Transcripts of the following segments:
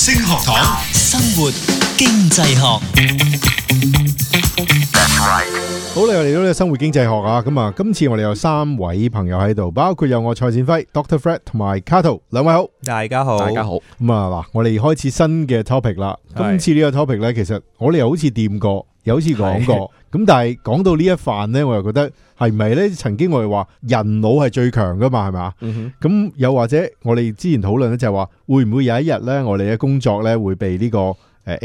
星學堂， 生活經濟學。 好，你又嚟到呢個生活經濟學啊！咁啊，今次我哋有3位朋友喺度，包括有我蔡展輝、Dr. Fred 同埋 Cato， 兩位好， 大家好， 大家好。 咁啊嗱，我哋開始新嘅 topic 啦。今次呢個 topic 咧，其實我哋又好似掂過，又好似講過。咁但係講到呢一範咧，我又覺得係咪咧？曾經我哋話人腦係最強噶嘛，係咪？咁又或者我哋之前討論咧，就係話會唔會有一日咧，我哋嘅工作咧會被呢個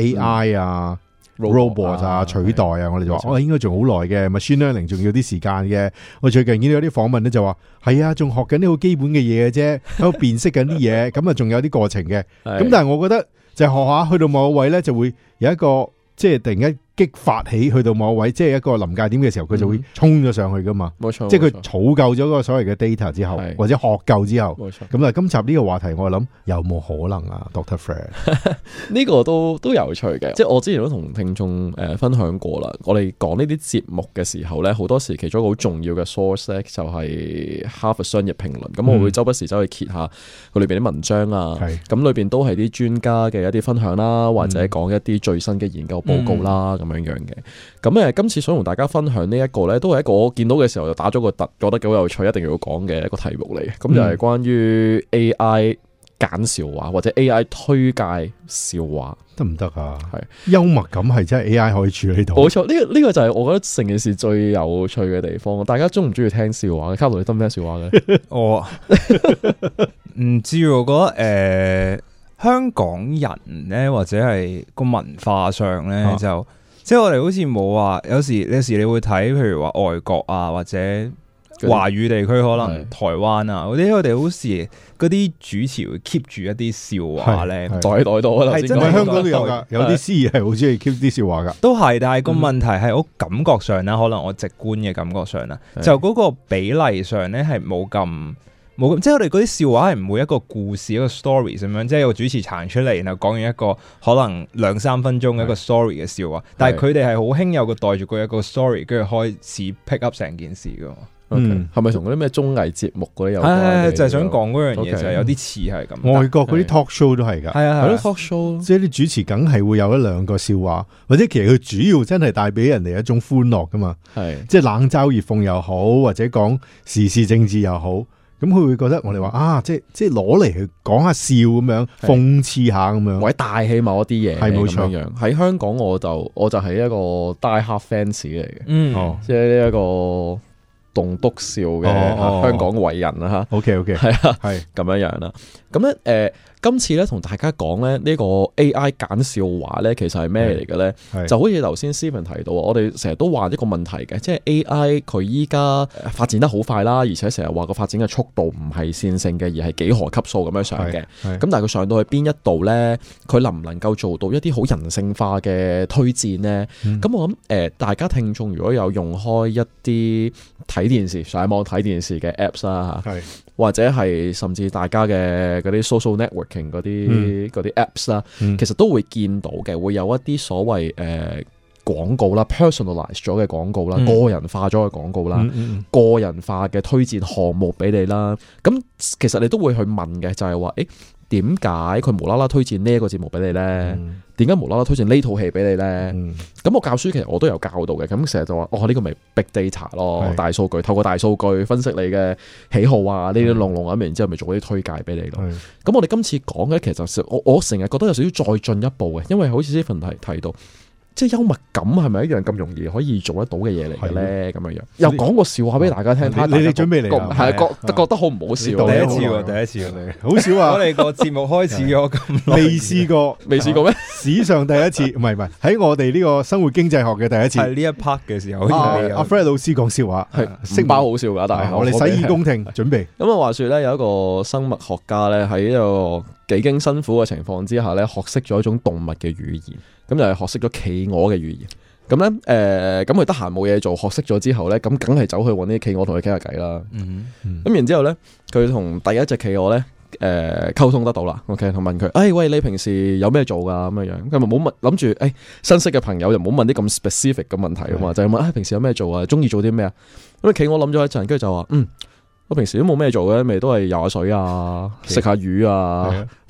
AI 啊、robot 啊取代啊？我哋就話應該仲好耐嘅 machine learning 仲要啲時間嘅。我最近見到有啲訪問咧就話係啊，仲學緊啲好基本嘅嘢嘅啫，喺度辨識緊啲嘢，咁啊仲有啲過程嘅。咁但係我覺得就學下去到某個位咧，就會有一個即係突然間激發起去到某個位，即係一個臨界點嘅時候，佢就會衝咗上去噶嘛。冇錯，即係佢儲夠咗嗰個所謂嘅 data 之後，或者學夠之後。冇錯。咁啊，今集呢個話題我諗有冇可能啊 ，Dr. Fred？ 呢個都有趣嘅，即係我之前都同聽眾分享過啦。我哋講呢啲節目嘅時候咧，好多時其中一個好重要嘅 source 咧，就係哈佛商業評論。咁我會周不時走去揭下佢裏邊啲文章啊。咁裏邊都係啲專家嘅一啲分享啦，或者講一啲最新嘅研究報告啦。咁樣嘅，咁今次想同大家分享呢一個咧，都係一個我見到嘅時候就打咗個突，覺得幾好有趣，一定要講嘅一個題目嚟嘅。咁就係關於 AI 揀笑話或者 AI 推介笑話得唔得啊？係幽默感係真係 AI 可以處理到。 冇錯，呢個就係我覺得成件事最有趣嘅地方。大家中唔中意聽笑話？卡羅你得唔得笑話嘅？ 我唔知，我覺得香港人咧，或者係個文化上咧就。即係我哋好似冇話，有時你會睇，譬如話外國啊，或者華語地區可能台灣啊嗰啲，我哋好似嗰啲主持會 keep 住一啲笑話咧， 袋到啊！ 係真係香港都有噶，有啲司儀係好中意 keep 啲笑話噶。都係， 但係個問題係我感覺上啦，可能我直觀嘅感覺上啦，就嗰個比例上咧係冇咁。即係我哋嗰啲笑話係唔會一個故事一個 story 咁樣，即係有個主持彈出嚟，然後講完一個可能2-3分鐘嘅一個 story 嘅笑話，但係佢哋係好興有個帶住佢一個 story， 跟住開始 pick up 成件事噶。 係咪同嗰啲咩綜藝節目嗰啲有關？ 就係想講嗰樣嘢，就係有啲似係咁。 外國嗰啲 talk show 都係噶， 係咯 talk show， 即係啲主持梗係會有1-2個笑話，或者其實佢主要真係帶俾人哋一種歡樂噶嘛。係即係冷嘲熱諷又好，或者講時事政治又好。咁佢會覺得我哋話啊，即係攞嚟去講下笑咁樣，諷刺下咁樣， 或者帶起某一啲嘢，係冇錯。喺香港我就係一個 die hard fans 嚟嘅，即係呢一個棟篤笑嘅香港偉人啦吓。OK， 係啊，係咁樣樣啦。咁咧今次咧同大家講咧呢個 AI 揀笑話咧，其實係咩嚟嘅咧？就好似頭先 Steven 提到，我哋成日都話一個問題嘅，即係 AI 佢依家發展得好快啦，而且成日話個發展嘅速度唔係線性嘅，而係幾何級數咁樣上嘅。咁但係佢上到去邊一度咧，佢能唔能夠做到一啲好人性化嘅推薦咧？咁我諗大家聽眾如果有用開一啲睇電視、上網睇電視嘅 apps 啦，或者係甚至大家嘅嗰啲 social networking 嗰啲 apps 啦，其實都會見到嘅，會有一啲所謂廣告啦 ，personalize 咗嘅廣告啦，個人化咗嘅廣告啦，個人化嘅推薦項目俾你啦。咁其實你都會去問嘅，就係話點解佢無啦啦推薦呢一個節目俾你咧？點解無啦啦推薦呢套戲俾你咧？咁我教書其實我都有教到嘅，咁成日就話呢個咪 big data 咯，大數據，透過大數據分析你嘅喜好啊，呢啲龍咁，然之後咪做啲推介俾你咯。咁我哋今次講嘅其實就我成日覺得有少少再進一步嘅，因為好似呢份題提到。即係幽默感係咪一樣咁容易可以做得到嘅嘢嚟嘅咧？咁樣又講個笑話俾大家聽，睇你準備嚟啦， 係覺得好唔好笑？ 第一次好少啊！ 我哋個節目開始咗咁耐， 未試過咩？史上第一次，唔係喺我哋呢個生活經濟學嘅第一次。 係呢一 part 嘅時候， 阿 Fred 老師講笑話， 係識包好笑噶，但係我哋洗耳恭聽，準備。 咁啊，話說咧，有一個生物學家咧喺一個幾經辛苦嘅情況之下咧，學識咗一種動物嘅語言，咁就係學識咗企鵝嘅語言。咁咧，咁佢得閒冇嘢做，學識咗之後咧，咁梗係走去搵啲企鵝同佢傾下偈啦。咁然之後咧，佢同第一隻企鵝咧，溝通得到啦。OK， 同問佢，喂，你平時有咩做噶？咁樣樣，佢咪冇問，諗住，新識嘅朋友就唔好問啲咁 specific 嘅問題啊嘛，就係問，平時有咩做啊？中意做啲咩啊？咁企鵝諗咗一陣，跟住就話，我平時都冇咩做嘅，咪都係游下水啊，食下魚啊。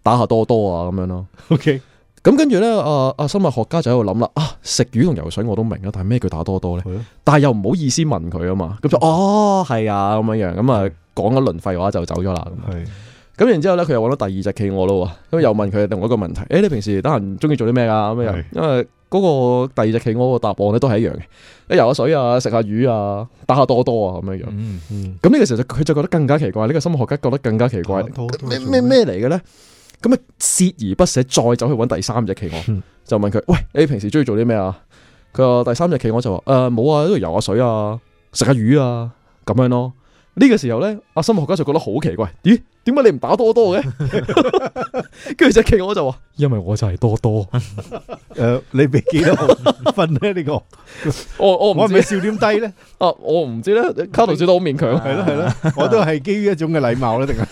打下多多啊咁樣咯。 OK。 咁跟住咧，生物學家就喺度諗啦，食魚同游水我都明啦，但係咩叫打多多咧？但係又唔好意思問佢啊嘛，咁就係啊咁樣，咁啊講一輪廢話就走咗啦。咁然之後咧，佢又揾到第二隻企鵝咯，咁又問佢另外一個問題，你平時得閒中意做啲咩啊？咁樣，因為嗰個第二隻企鵝個答案咧都係一樣嘅，你游下水啊，食下魚啊，打下多多啊咁樣。咁呢個時候佢就覺得更加奇怪，呢個生物學家覺得更加奇怪，咩嚟嘅咧？咁啊，鍥而不捨，再走去揾第三隻企鵝，就問佢：喂，你平時中意做啲咩啊？佢話第三隻企鵝就話：冇啊，喺度游下水啊，食下魚啊，咁樣咯。呢個時候咧，阿生物學家就覺得好奇怪，咦？點解你唔打多多嘅？跟住隻企鵝就話：因為我就係多多。 你俾幾多分咧？呢個我係咪笑點低咧？ 我唔知咧。卡圖笑得好勉強， 係咯，我都係基於一種嘅禮貌咧，定係？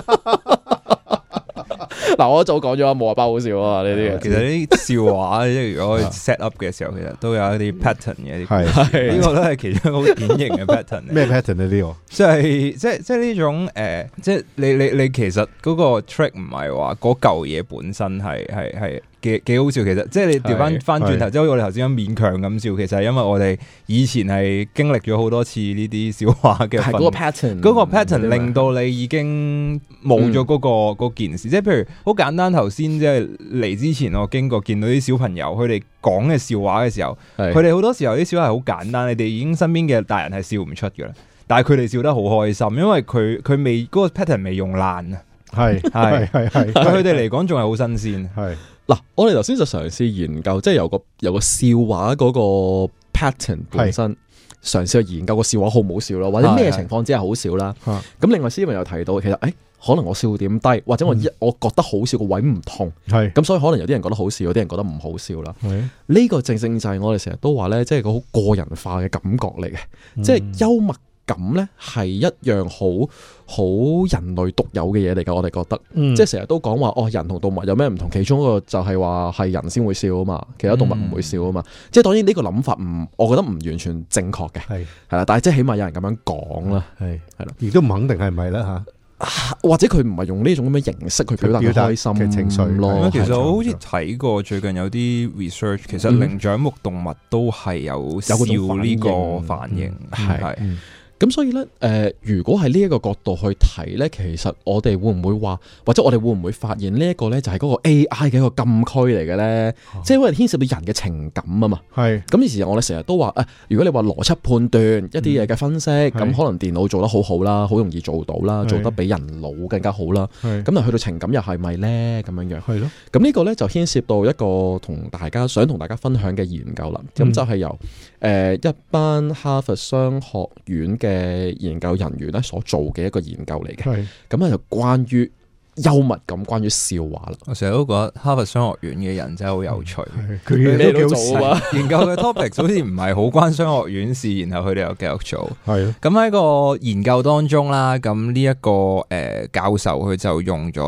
嗱，我一早講咗冇話包好笑啊！呢啲其實啲笑話，即係如果 set up 嘅時候，其實都有一啲 pattern 嘅。係呢個都係其中一個好典型嘅 pattern。咩 pattern 呢？呢個即係呢種即係你其實嗰個 trick 唔係話嗰嚿嘢本身係幾好笑。其實即係你調翻轉頭，即係好似我哋頭先咁勉強咁笑，其實係因為我哋以前係經歷咗好多次呢啲笑話嘅。係嗰個 pattern 令到你已經冇咗嗰件事。即係譬如好簡單，頭先即係嚟之前，我經過見到啲小朋友，佢哋講嘅笑話嘅時候，佢哋好多時候啲笑話係好簡單，你哋已經身邊嘅大人係笑唔出㗎啦。但係佢哋笑得好開心，因為佢未嗰個 pattern 未用爛啊。係對佢哋嚟講仲係好新鮮。係嗱，我哋頭先就嘗試研究，即係有個笑話嗰個 pattern 本身，嘗試去研究個笑話好唔好笑咯，或者咩情況之下好笑啦。咁另外Steven又提到，其實可能我笑點低，或者我覺得好笑個位唔同，咁所以可能有啲人覺得好笑，有啲人覺得唔好笑啦。呢個正正就係我哋成日都話咧，即係個好個人化嘅感覺嚟嘅，即係幽默感咧係一樣好人類獨有嘅嘢嚟㗎。我哋覺得，即係成日都講話人同動物有咩唔同，其中一個就係話係人先會笑啊嘛，其他動物唔會笑啊嘛。即係當然呢個諗法我覺得唔完全正確嘅，係啦，但係即係起碼有人咁樣講啦，係啦， 亦都唔肯定係咪啦吓。 或者佢唔係用呢種咁嘅形式去表達開心嘅情緒咯。 其實我好似睇過最近有啲 research，其實靈長目動物都係有笑呢個反應，係。 咁所以咧，如果係呢一個角度去睇咧，其實我哋會唔會話，或者我哋會唔會發現呢一個咧，就係嗰個 AI 嘅一個禁區嚟嘅咧？即係因為牽涉到人嘅情感啊嘛。係。咁以前我哋成日都話，如果你話邏輯判斷一啲嘢嘅分析，咁可能電腦做得好好啦，好容易做到啦，做得比人腦更加好啦。咁但係去到情感又係咪咧？咁樣樣。係咯。咁呢個咧就牽涉到一個想同大家分享嘅研究啦。咁就係由一班哈佛商學院嘅研究人員咧所做嘅一個研究嚟嘅，咁咧就關於幽默感，關於笑話啦。 我成日都覺得哈佛商學院嘅人真係好有趣， 佢咩都做啊。 研究嘅 topic 好似唔係好關商學院事，然後佢哋又繼續做。係咁喺個研究當中啦，咁呢一個教授佢就用咗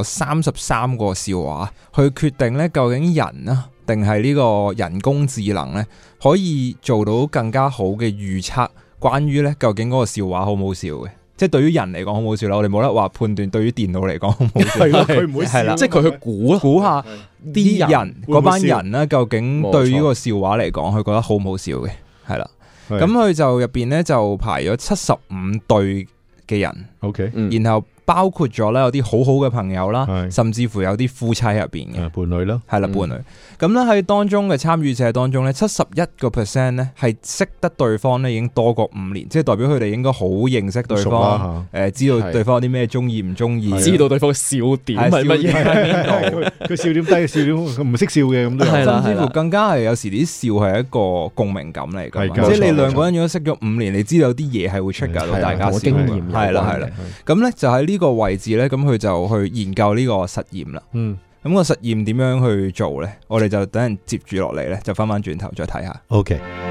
33個笑話去決定咧，究竟人啊定係呢個人工智能咧可以做到更加好嘅預測。關於咧，究竟嗰個笑話好唔好笑嘅？即係對於人嚟講好唔好笑啦，我哋冇得話判斷對於電腦嚟講好唔好笑。係佢唔會笑，即係佢去估下啲人嗰班人咧，究竟對於呢個笑話嚟講，佢覺得好唔好笑嘅？係啦，咁佢就入邊咧就排咗75對嘅人。OK，然後包括咗咧有啲好好嘅朋友啦，甚至乎有啲夫妻入邊嘅伴侶啦， 係啦伴侶。咁咧喺當中嘅參與者當中咧，71% 咧係識得對方咧已經多過5年，即係代表佢哋應該好認識對方，知道對方有啲咩中意唔中意， 知道對方嘅笑點係乜嘢， 佢笑點低嘅笑點唔識笑嘅咁都有， 甚至乎更加係有時啲笑係一個共鳴感嚟㗎，即係你兩個人如果識咗5年，你知道有啲嘢係會出㗎到大家笑，係啦，咁咧就喺呢個位置咧，咁佢就去研究呢個實驗啦。咁個實驗點樣去做咧？我哋就等人接住落嚟咧，就翻轉頭再睇下。 OK。